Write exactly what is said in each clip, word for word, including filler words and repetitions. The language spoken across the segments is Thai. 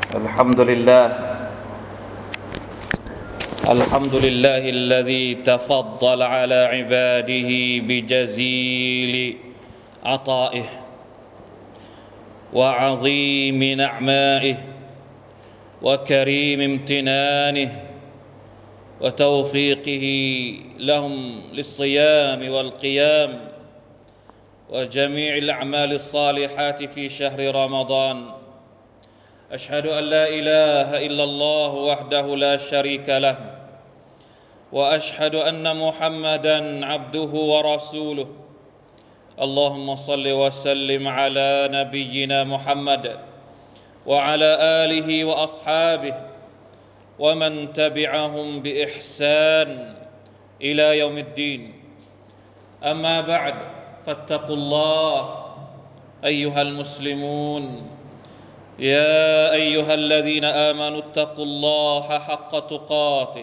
الحمد لله الحمد لله الذي تفضل على عباده بجزيل عطائه وعظيم نعمائه وكريم امتنانه وتوفيقه لهم للصيام والقيام وجميع الأعمال الصالحات في شهر رمضان أشهد أن لا إله إلا الله وحده لا شريك له وأشهد أن محمدًا عبده ورسوله اللهم صل وسلم على نبينا محمد وعلى آله وأصحابه ومن تبعهم بإحسان إلى يوم الدين أما بعد فاتقوا الله أيها المسلمون يا أيها الذين آمنوا اتقوا الله حق تقاته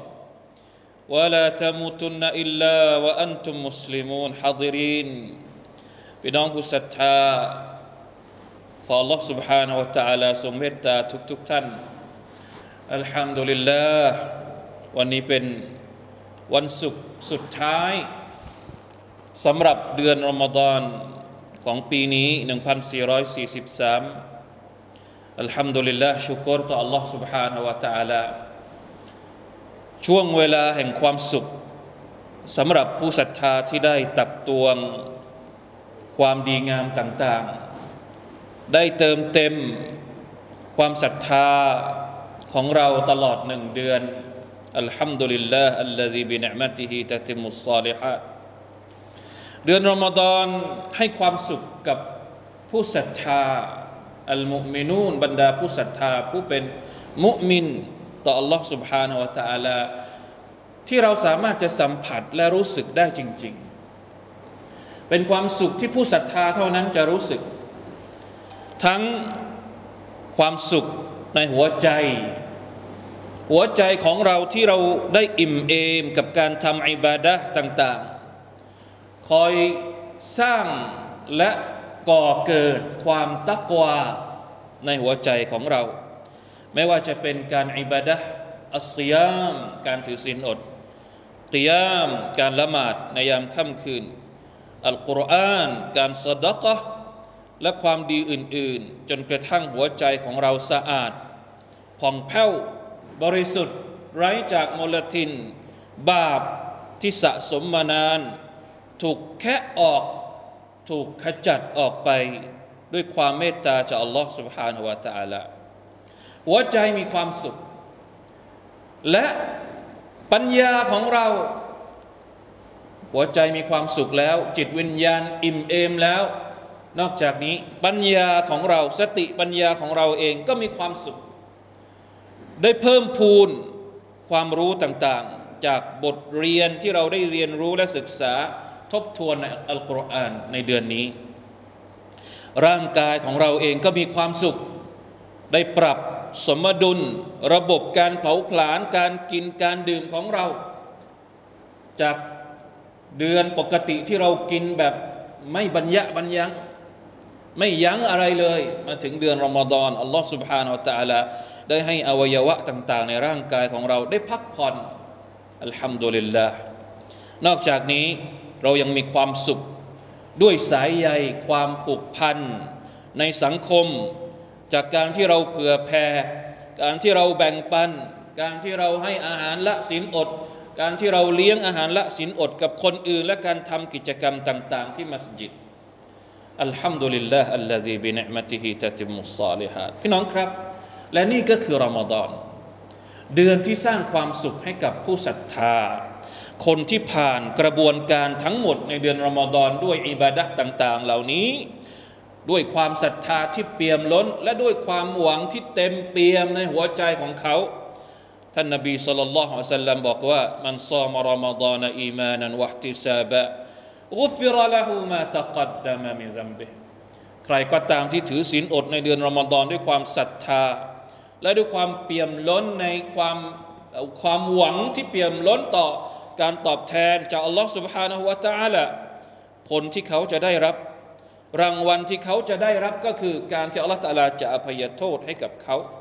ولا تموتن إلا وأنتم مسلمون حاضرين พี่น้องผู้ศรัทธาขอ Allah سبحانه และ تعالى ทรงเมตตาทุกๆท่านอัลฮัมดุลิลลาห์วันนี้เป็นวันศุกร์สุดท้ายสำหรับเดือนรอมฎอนของปีนี้หนึ่งพันสี่ร้อยสี่สิบสามอัลฮัมดุลิลลาห์ชุกรต่อ Allah سبحانه และ تعالى ช่วงเวลาแห่งความสุขสำหรับผู้ศรัทธาที่ได้ตักตวงความดีงามต่างๆได้เติมเต็มความศรัทธาของเราตลอดหนึ่งเดือนอัลฮัมดุลิลลาห์อัลลซีบินิอ์มะติฮิตะติมุศศอลิฮาตเดือนรอมฎอนให้ความสุขกับผู้ศรัทธาอัลมุมินูนบรรดาผู้ศรัทธาผู้เป็นมุมินต่อ Allah سبحانه และ تعالى ที่เราสามารถจะสัมผัสและรู้สึกได้จริงๆเป็นความสุขที่ผู้ศรัทธาเท่านั้นจะรู้สึกทั้งความสุขในหัวใจหัวใจของเราที่เราได้อิ่มเอมกับการทำอิบาดะห์ต่างๆคอยสร้างและก่อเกิดความตักวาในหัวใจของเราไม่ว่าจะเป็นการอิบาดะห์อัศยามการถือศีลอดกิยามการละหมาดในยามค่ำคืนอัลกุรอานการซะดะกะห์และความดีอื่นๆจนกระทั่งหัวใจของเราสะอาดผ่องแผ้วบริสุทธิ์ไร้จากมลทินบาปที่สะสมมานานถูกแคะออกถูกขจัดออกไปด้วยความเมตตาจากอัลลอฮฺ سبحانه และ تعالى หัวใจมีความสุขและปัญญาของเราหัวใจมีความสุขแล้วจิตวิญญาณอิ่มเอมแล้วนอกจากนี้ปัญญาของเราสติปัญญาของเราเองก็มีความสุขได้เพิ่มพูนความรู้ต่างๆจากบทเรียนที่เราได้เรียนรู้และศึกษาทบทวนในอัลกุรอานในเดือนนี้ร่างกายของเราเองก็มีความสุขได้ปรับสมดุลระบบการเผาผลาญการกินการดื่มของเราจากเดือนปกติที่เรากินแบบไม่บรรยะบรรยังไม่ยั้งอะไรเลยมาถึงเดือนรอมฎอนอัลลอฮฺ سبحانه และ تعالى ได้ให้อวัยวะต่างๆในร่างกายของเราได้พักผ่อนอัลฮัมดุลิลลาห์นอกจากนี้เรายังมีความสุขด้วยสายใยความผูกพันในสังคมจากการที่เราเผื่อแผ่การที่เราแบ่งปันการที่เราให้อาหารละศีลอดการที่เราเลี้ยงอาหารละศีลอดกับคนอื่นและการทำกิจกรรมต่างๆที่มัสยิดอัลฮัมดุลิลลาห์อัลลซีบินิอ์มะติฮิตะติมุศศอลิฮาตพี่น้องครับและนี่ก็คือรอมฎอนเดือนที่สร้างความสุขให้กับผู้ศรัทธาคนที่ผ่านกระบวนการทั้งหมดในเดือนรอมฎอนด้วยอิบาดะห์ต่างๆเหล่านี้ด้วยความศรัทธาที่เปี่ยมล้นและด้วยความหวังที่เต็มเปี่ยมในหัวใจของเขาท่านนบีศ็อลลัลลอฮุอะลัยฮิวะซัลลัมบอกว่ามันศอมรอมฎอนอีมานันวะอิห์ติซาบะกุฟิรละฮูมาตะกัดดะมะมินซัมบิฮิใครก็ตามที่ถือศีลอดในเดือนรอมฎอนด้วยความศรัทธาและด้วยความเปี่ยมล้นในความความหวังที่เปี่ยมล้นต่อการตอบแทนจากอัลลอฮฺ سبحانه และ تعالى ผลที่เขาจะได้รับรางวัลที่เขาจะได้รับก็คือการที่อัลลอฮฺตะอาลาจะอภัยโทษให้กับเขา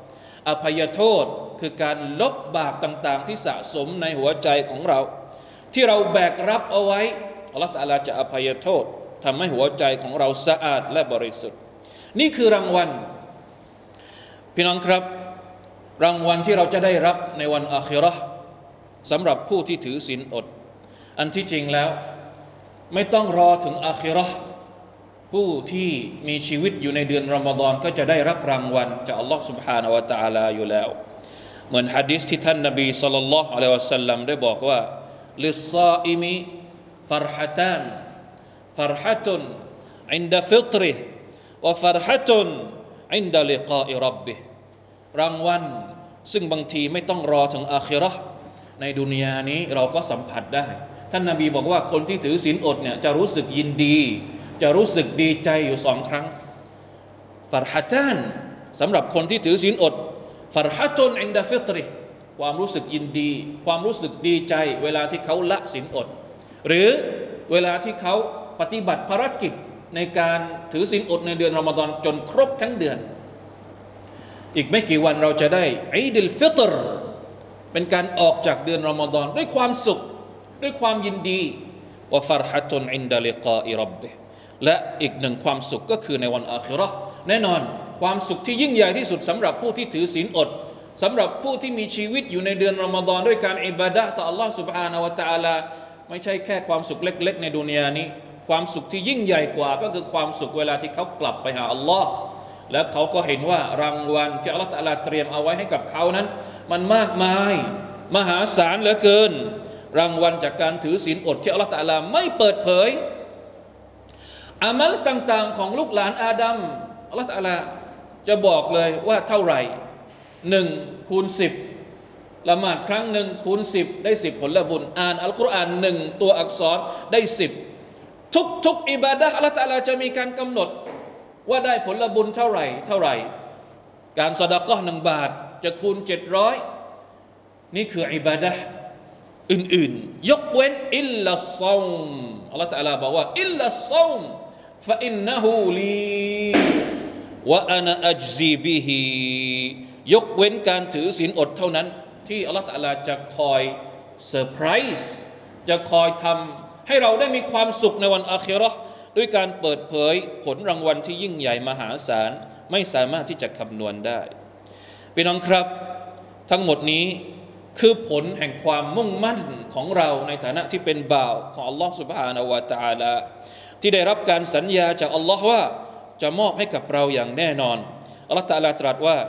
อภัยโทษคือการลบบาปต่างๆที่สะสมในหัวใจของเราที่เราแบกรับเอาไว้อัลลอฮฺตะอาลาจะอภัยโทษทำให้หัวใจของเราสะอาดและบริสุทธิ์นี่คือรางวัลพี่น้องครับรางวัลที่เราจะได้รับในวันอาคิเราะห์สำหรับผู้ที่ถือศีลอดอันที่จริงแล้วไม่ต้องรอถึงอาคิเราะห์ผู้ที่มีชีวิตอยู่ในเดือนรอมฎอนก็จะได้รับรางวัลจากอัลลอฮฺ سبحانه และ تعالى อยู่แล้วเหมือนหะดีษที่ท่านนบีศ็อลลัลลอฮุอะลัยฮิวะซัลลัมได้บอกว่าลิศศออิมิฟัรฮะตานฟัรฮะตุนอินดะฟิตริฮิวะฟัรฮะตุนอินดะลิกาอิร็อบบิฮิรางวัลซึ่งบางทีไม่ต้องรอถึงอาคิเราะห์ในดุนยานี้เราก็สัมผัสได้ท่านนบีบอกว่าคนที่ถือศีลอดเนี่ยจะรู้สึกยินดีจะรู้สึกดีใจอยู่สองครั้งฟัรฮะตานสำหรับคนที่ถือศีลอดฟัรฮะตุนอินดะฟิตริฮิความรู้สึกยินดีความรู้สึกดีใจเวลาที่เขาละศีลอดหรือเวลาที่เขาปฏิบัติภารกิจในการถือศีลอดในเดือนรอมฎอนจนครบทั้งเดือนอีกไม่กี่วันเราจะได้อีดุลฟิตรเป็นการออกจากเดือนรอมฎอนด้วยความสุขด้วยความยินดีวะฟัรฮะตุนอินดะลิกาอิร็อบบิฮิและอีกหนึ่งความสุขก็คือในวันอาคิเราะห์แน่นอนความสุขที่ยิ่งใหญ่ที่สุดสำหรับผู้ที่ถือศีลอดสำหรับผู้ที่มีชีวิตอยู่ในเดือนรอมฎอนด้วยการอิบาดะห์ต่ออัลลอฮฺ سبحانه และ تعالى ไม่ใช่แค่ความสุขเล็กๆในดุนยานี้ความสุขที่ยิ่งใหญ่กว่าก็คือความสุขเวลาที่เขากลับไปหาอัลลอฮ์แล้วเขาก็เห็นว่ารางวัลที่อัลลอฮฺตะอาลาเตรียมเอาไว้ให้กับเขานั้นมันมากมายมหาศาลเหลือเกินรางวัลจากการถือศีลอดที่อัลลอฮฺตะอาลาไม่เปิดเผยอามัลต่างๆของลูกหลานอาดัมอัลลอฮฺตะอาลาจะบอกเลยว่าเท่าไหร่หนึ่งคูณสิบละหมาดครั้งหนึ่งคูณสิบได้สิบผลบุญอ่านอัลกุรอานหนึ่งตัวอักษรได้สิบทุกทุกอิบาดะห์อัลลอฮฺตะอาลาจะมีการกำหนดว่าได้ผลบุญเท่าไหร่เท่าไหร่การซอดาเกาะห์หนึ่งบาทจะคูณเจ็ดร้อยนี่คืออิบาดะห์อื่นๆยกเว้นอิลลัศศอมอัลลอฮฺตะอาลาบอกว่าอิลลัศศอมฟะอินนะฮูลีวะอะนะอัจซีบิฮิยกเว้นการถือศีลอดเท่านั้นที่อัลลอฮฺตะอาลาจะคอยเซอร์ไพรส์จะคอยทำให้เราได้มีความสุขในวันอาคิเราะห์ด้วยการเปิดเผยผลรางวัลที่ยิ่งใหญ่มหาศาลไม่สามารถที่จะคำนวณได้พี่น้องครับทั้งหมดนี้คือผลแห่งความมุ่งมั่นของเราในฐานะที่เป็นบ่าวของอัลลอฮฺ سبحانه และ تعالى ที่ได้รับการสัญญาจากอัลลอฮฺว่าจะมอบให้กับเราอย่างแน่นอนอัลลอฮฺ تعالى ตรัสว่า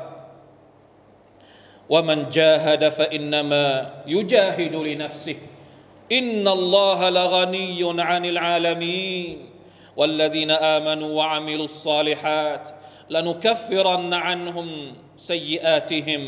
ومن جاهد فإنما يجاهد لنفسه إن الله لغني عن العالمين والذين آمنوا وعملوا الصالحات لنكفرن عنهم سيئاتهم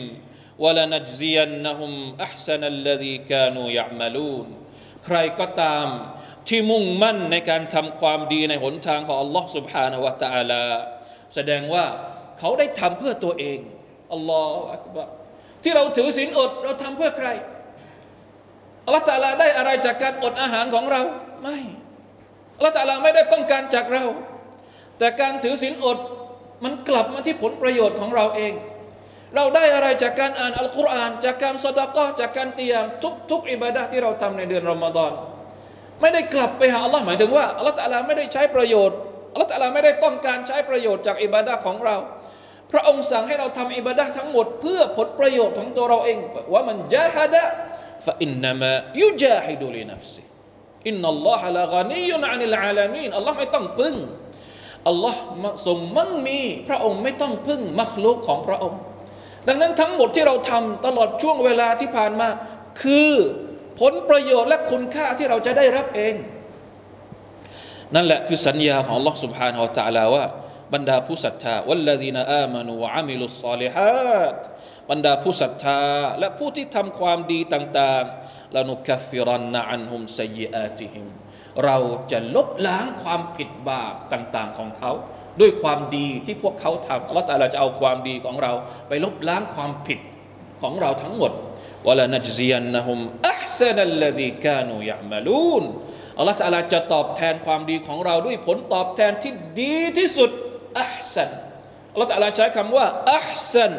ولنجزينهم أحسن الذي كانوا يعملون ใครก็ตามที่มุ่งมั่นในการทำความดีในหนทางของ Allah سبحانه และ تعالى แสดงว่าเขาได้ทำเพื่อตัวเองอัลลอฮฺอักบัรที่เราถือศีลอดเราทำเพื่อใครอัลลอฮฺตะอาลาได้อะไรจากการอดอาหารของเราไม่อัลลอฮฺตะอาลาไม่ได้ต้องการจากเราแต่การถือศีลอดมันกลับมาที่ผลประโยชน์ของเราเองเราได้อะไรจากการอ่านอัลกุรอานจากการซอดาเกาะห์จากการกิยามทุกๆอิบาดะห์ที่เราทำในเดือนรอมฎอนไม่ได้กลับไปหาอัลลอฮฺหมายถึงว่าอัลลอฮฺตะอาลาไม่ได้ใช้ประโยชน์อัลลอฮฺตะอาลาไม่ได้ต้องการใช้ประโยชน์จากอิบาดะห์ของเราพระองค์สั่งให้เราทำอิบาดะห์ทั้งหมดเพื่อผลประโยชน์ของตัวเราเองว่ามันจาฮดะฟะอินนามายุจาฮิดุลินัฟซิอินนัลลอฮะละฆานียุนอานิลอาลามีนอัลลอฮ์ไม่ต้องพึ่งอัลลอฮ์ทรงมั่งมีพระองค์ไม่ต้องพึ่งมัคลุกของพระองค์ดังนั้นทั้งหมดที่เราทำตลอดช่วงเวลาที่ผ่านมาคือผลประโยชน์และคุณค่าที่เราจะได้รับเองนั่นแหละคือสัญญาของอัลลอฮ์ سبحانه และ تعالى ว่าบรรดาผู้ศรัทธาวัลลซีนาอามานูวะอามิลุศศอลิฮาตบรรดาผู้ศรัทธาและผู้ที่ทำความดีต่างๆลานุกัฟฟิรันนะอันฮุมซัยยิอาติฮิมเราจะลบล้างความผิดบาปต่างๆของเขาด้วยความดีที่พวกเขาทำอัลเลาะห์ตะอาลาจะเอาความดีของเราไปลบล้างความผิดของเราทั้งหมดวะลานัจซิยันนะฮุมอัห์ซะนัลลซีกานูยะอ์มะลูนอัลเลาะห์ตะอาลาจะตอบแทนความดีของเราด้วยผลตอบแทนที่ดีที่สุดอัห์ซันอัลเลาะห์ตะอาลาใช้คำว่าอัห์ซัน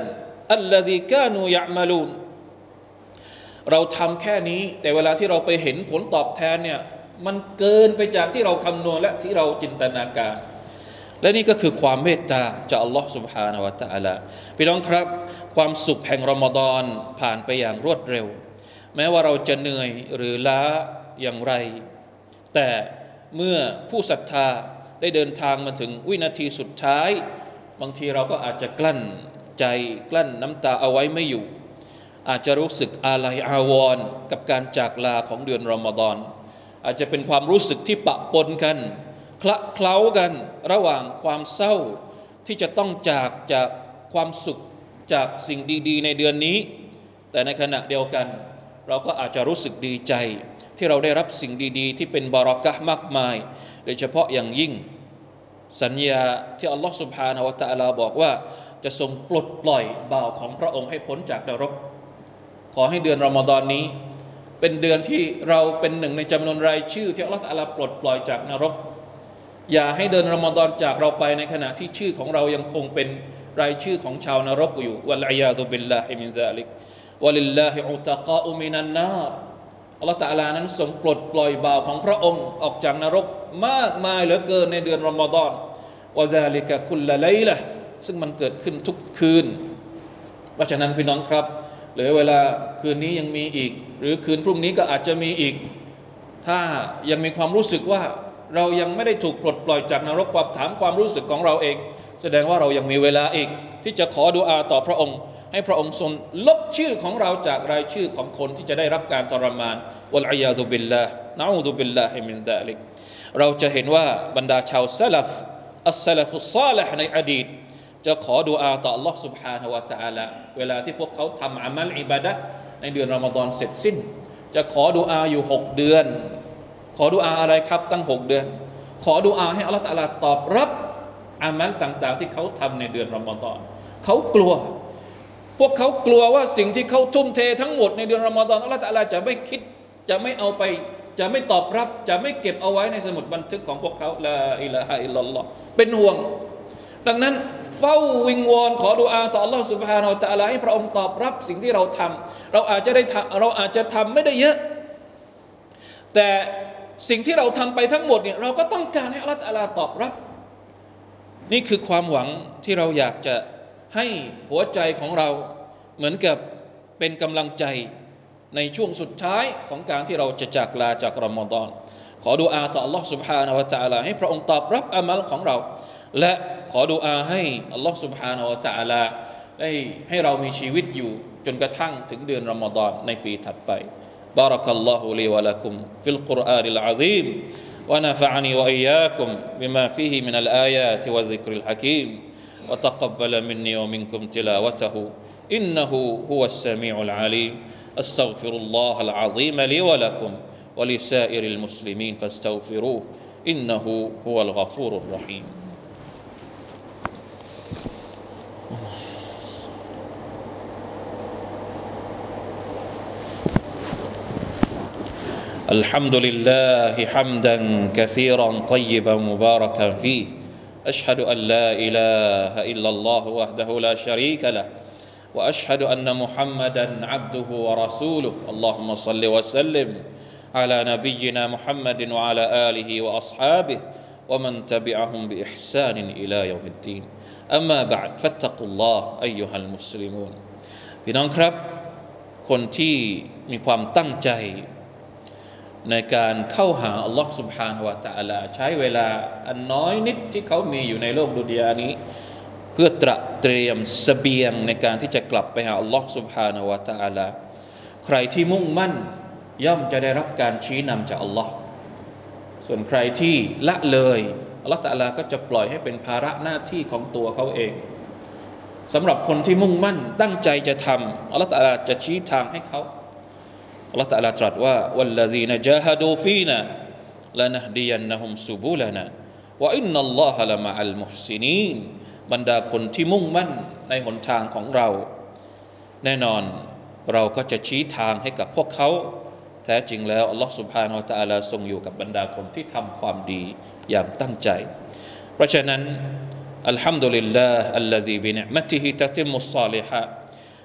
อัลลซีกานูยะมาลูนเราทำแค่นี้แต่เวลาที่เราไปเห็นผลตอบแทนเนี่ยมันเกินไปจากที่เราคำนวณและที่เราจินตนาการและนี่ก็คือความเมตตาจากอัลลอฮฺ سبحانه และ تعالى พี่น้องครับความสุขแห่งรอมฎอนผ่านไปอย่างรวดเร็วแม้ว่าเราจะเหนื่อยหรือล้าอย่างไรแต่เมื่อผู้ศรัทธาได้เดินทางมาถึงวินาทีสุดท้ายบางทีเราก็อาจจะกลั้นใจกลั้นน้ำตาเอาไว้ไม่อยู่อาจจะรู้สึกอาลัยอาวรณ์กับการจากลาของเดือนรอมฎอนอาจจะเป็นความรู้สึกที่ปะปนกันคละเคล้ากันระหว่างความเศร้าที่จะต้องจากจากความสุขจากสิ่งดีๆในเดือนนี้แต่ในขณะเดียวกันเราก็อาจจะรู้สึกดีใจที่เราได้รับสิ่งดีๆที่เป็นบารอกะห์มากมายโดยเฉพาะอย่างยิ่งสัญญาที่อัลลอฮฺ سبحانه และ تعالى บอกว่าจะทรงปลดปล่อยบ่าวของพระองค์ให้พ้นจากนรกขอให้เดือนรอมฎอนนี้เป็นเดือนที่เราเป็นหนึ่งในจำนวนรายชื่อที่อัลลอฮฺ تعالى ปลดปล่อยจากนรกอย่าให้เดือนรอมฎอนจากเราไปในขณะที่ชื่อของเรายังคงเป็นรายชื่อของชาวนรกอยู่วัลอียาซุบิลลาฮิมินซาลิกวะลิลลาฮิอุตะกาอุมินันนาร์อัลลอฮฺ تعالى นั้นทรงปลดปล่อยบ่าวของพระองค์ออกจากนรกมากมายเหลือเกินในเดือนรอมฎอนวะซาลิกะคุลละไลละห์ซึ่งมันเกิดขึ้นทุกคืนเพราะฉะนั้นพี่น้องครับเหลือเวลาคืนนี้ยังมีอีกหรือคืนพรุ่งนี้ก็อาจจะมีอีกถ้ายังมีความรู้สึกว่าเรายังไม่ได้ถูกปลดปล่อยจากนรกความถามความรู้สึกของเราเองแสดงว่าเรายังมีเวลาอีกที่จะขอดุอาต่อพระองค์ให้พระองค์ทรงลบชื่อของเราจากรายชื่อของคนที่จะได้รับการทรมานวัลอียาซุบิลลาห์นะอูซุบิลลาฮิมินซาลิกเราจะเห็นว่าบรรดาชาวซะลัฟอัสซะลัฟุศศอลิฮ์ในอดีตจะขอดุอาต่อ Allah سبحانه และ تعالى เวลาที่พวกเขาทำอามัลอิบาดะห์ในเดือนรอมฎอนเสร็จสิ้นจะขอดุอาอยู่หกเดือนขอดุอาอะไรครับตั้งหกเดือนขอดุอาให้อัลเลาะห์ตะอาลาตอบรับอามัลต่างๆที่เขาทำในเดือนรอมฎอนเขากลัวพวกเขากลัวว่าสิ่งที่เขาทุ่มเททั้งหมดในเดือนรอมฎอนอัลเลาะห์ตะอาลาจะไม่คิดจะไม่เอาไปจะไม่ตอบรับจะไม่เก็บเอาไว้ในสมุดบันทึกของพวกเขาลาอิลาฮะอิลลัลลอฮ์เป็นห่วงดังนั้นเฝ้าวิงวอนขอดุอาต่อ Allah سبحانه และ تعالى ให้พระองค์ตอบรับสิ่งที่เราทำเราอาจจะได้เราอาจจะทำไม่ได้เยอะแต่สิ่งที่เราทำไปทั้งหมดเนี่ยเราก็ต้องการให้ Allah تعالى ตอบรับนี่คือความหวังที่เราอยากจะให้หัวใจของเราเหมือนกับเป็นกำลังใจในช่วงสุดท้ายของการที่เราจะจากลาจากรอมฎอนขอดุอาต่อ Allah سبحانه และ تعالى ให้พระองค์ตอบรับอามัลของเราและขอดุอาให้อัลลอฮฺ سبحانه และ تعالى ได้ให้เรามีชีวิตอยู่จนกระทั่งถึงเดือนรอมฎอนในปีถัดไปบารักัลลอฮุลีวะละกุมฟิลกุรอานิลอะซีมวะนะฟะอะนีวะอียากุมบิมาฟีฮิมินัลอายาติวะซิกริลฮะกีมวะตักับบะลมินนีวะมินกุมติลาวะตะฮูอินนะฮูฮุวัสสะมีอุลอะลีมอัสตัฆฟิรุลลอฮะลอะซีมลีวะละกุมวะลิซาอิริลมุสลิมีนฟัสตัฆฟิรูฮ์อินนะฮูฮุวัลฆอฟูรุรเราะฮีมالحمد لله حمدا كثيرا طيبا مباركا فيه أشهد أن لا إله إلا الله وحده لا شريك له وأشهد أن محمدا عبده ورسوله اللهم صل وسلم على نبينا محمد وعلى آله وأصحابه ومن تبعهم بإحسان إلى يوم الدين أما بعد فاتقوا الله أيها المسلمون พี่น้องครับคนที่มีความตั้งใจในการเข้าหาอัลลอฮ์ سبحانه และ تعالى ใช้เวลาอันน้อยนิดที่เขามีอยู่ในโลกดุนยานี้เพื่อตระเตรียมเสบียงในการที่จะกลับไปหาอัลลอฮ์ سبحانه และ تعالى ใครที่มุ่งมั่นย่อมจะได้รับการชี้นำจากอัลลอฮ์ส่วนใครที่ละเลยอัลลอฮ์ تعالى ก็จะปล่อยให้เป็นภาระหน้าที่ของตัวเขาเองสำหรับคนที่มุ่งมั่นตั้งใจจะทำอัลลอฮ์ تعالى จะชี้ทางให้เขาอัลลอฮฺตะอาลาตรัสว่าวัลลซีนจาฮะดูฟีนาลานะฮดียันนะฮุมซุบุลานาวะอินนัลลอฮะละมะอัลมุฮซินีนบรรดาคนที่มุ่งมั่นในหนทางของเราแน่นอนเราก็จะชี้ทางให้กับพวกเขาแท้จริงแล้วอัลลอฮฺซุบฮานะฮูวะตะอาลาทรงอยู่กับบรรดาคนที่ทำความดีอย่างตั้งใจเพราะฉะนั้นอัลฮัมดุลิลลาฮ์อัลลซีบินิอ์มะติฮิตะติมุศศอลิฮาต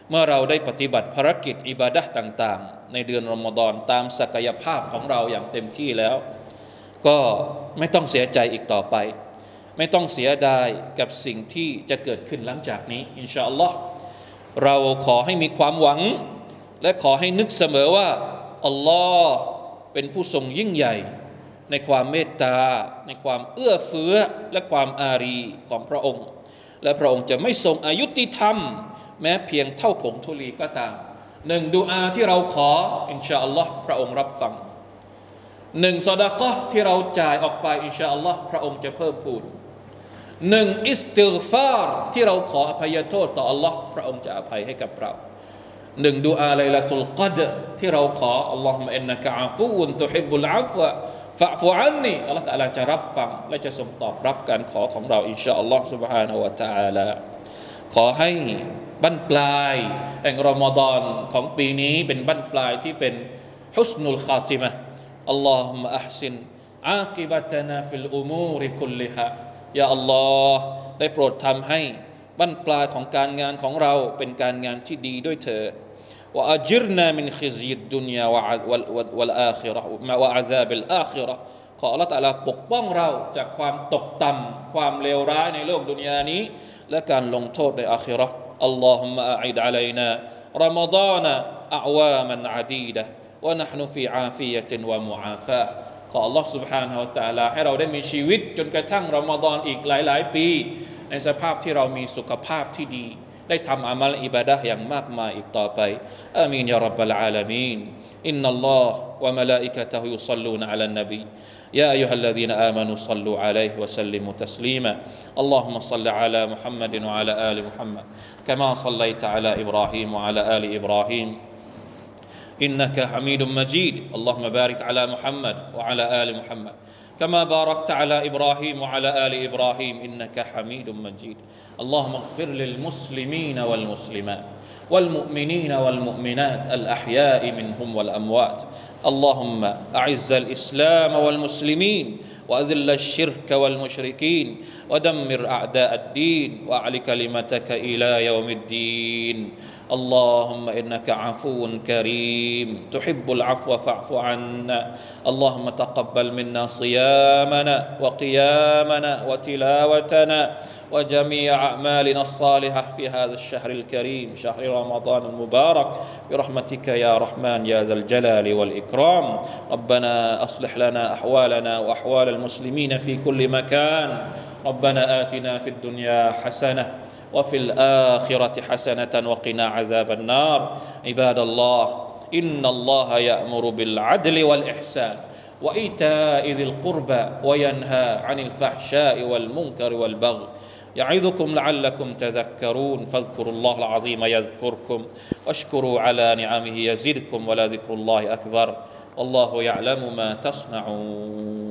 เมื่อเราได้ปฏิบัติภารกิจอิบาดะห์ต่างๆในเดือนรอมฎอนตามศักยภาพของเราอย่างเต็มที่แล้วก็ไม่ต้องเสียใจอีกต่อไปไม่ต้องเสียดายกับสิ่งที่จะเกิดขึ้นหลังจากนี้อินชาอัลลอฮ์เราขอให้มีความหวังและขอให้นึกเสมอว่าอัลลอฮ์เป็นผู้ทรงยิ่งใหญ่ในความเมตตาในความเอื้อเฟื้อและความอารีของพระองค์และพระองค์จะไม่ทรงอายุติธรรมแม้เพียงเท่าผงธุลีก็ตามหนึ่งดุอาที่เราขออินชาอัลลอฮ์พระองค์รับฟังหนึ่งซอดาเกาะห์ที่เราจ่ายออกไปอินชาอัลลอฮ์พระองค์จะเพิ่มพูนหนึ่งอิสติฆฟาร์ที่เราขออภัยโทษต่ออัลลอฮ์พระองค์จะอภัยให้กับเราหนึ่งดุอาไลลาตุลกัดรที่เราขออัลลอฮุมะอินนะกะอาฟูนตุฮิบบุลอัฟวะฟะฟุอันนีอัลลอฮ์ตะอาลาจะรับฟังและจะทรงตอบรับการขอของเราอินชาอัลลอฮ์ซุบฮานะฮูวะตะอาลาขอให้บั้นปลายแห่งรอมฎอนของปีนี้เป็นบั้นปลายที่เป็นฮุสนุลคาติมะห์อัลลอฮุมะอัห์ซินอากิบะตะนาฟิลอุมูริคุลลิฮายาอัลลอฮ์ได้โปรดทำให้บั้นปลายของการงานของเราเป็นการงานที่ดีด้วยเถิดวะอัจิรนามินขิซยิดดุนยาวัลอาคิเราะห์วะอะซาบิลอาคิเราะห์ขออัลเลาะห์ตะอาลาปกป้องเราจากความตกต่ำความเลวร้ายในโลกดุนยานี้และการลงโทษในอาคิเราะห์อัลลอฮุมมะอะอิดอะลัยนารอมฎอนอะอ์วามันอะดีดะฮ์วะนะห์นุฟีอาฟิยะตินวะมุอาฟาขออัลลอฮ์ سبحانه และ تعالى ให้เราได้มีชีวิตจนกระทั่งรอมฎอนอีกหลายๆปีในสภาพที่เรามีสุขภาพที่ดีได้ทำอามัลอิบาดะห์อย่างมากมายอีกต่อไปอามีนยาร็อบบัลอาลามีนอินนัลลอฮ์วะมะลาอิกะตุฮุยุศ็อลลูนอะลันนบีيا أيها الذين آمنوا صلوا عليه وسلموا تسليما اللهم صل على محمد وعلى آل محمد كما صليت على إبراهيم وعلى آل إبراهيم إنك حميد مجيد اللهم بارك على محمد وعلى آل محمد كما باركت على إبراهيم وعلى آل إبراهيم إنك حميد مجيد اللهم اغفر للمسلمين والمسلمات والمؤمنين والمؤمنات الأحياء منهم والأموات اللهم أعز الإسلام والمسلمين وأذل الشرك والمشركين ودمر أعداء الدين وأعل كلمتك إلى يوم الدين اللهم إنك عفو كريم تحب العفو فاعف عنا اللهم تقبل منا صيامنا وقيامنا وتلاوتنا وجميع أعمالنا الصالحة في هذا الشهر الكريم شهر رمضان المبارك برحمتك يا رحمن يا ذا الجلال والإكرام ربنا أصلح لنا أحوالنا وأحوال المسلمين في كل مكان ربنا آتنا في الدنيا حسنة وفي الآخرة حسنة وقنا عذاب النار عباد الله إن الله يأمر بالعدل والإحسان وإيتاء ذي القربى وينهى عن الفحشاء والمنكر والبغي يعظكم لعلكم تذكرون فاذكروا الله العظيم يذكركم واشكروا على نعمه يزدكم ولذكر الله أكبر والله يعلم ما تصنعون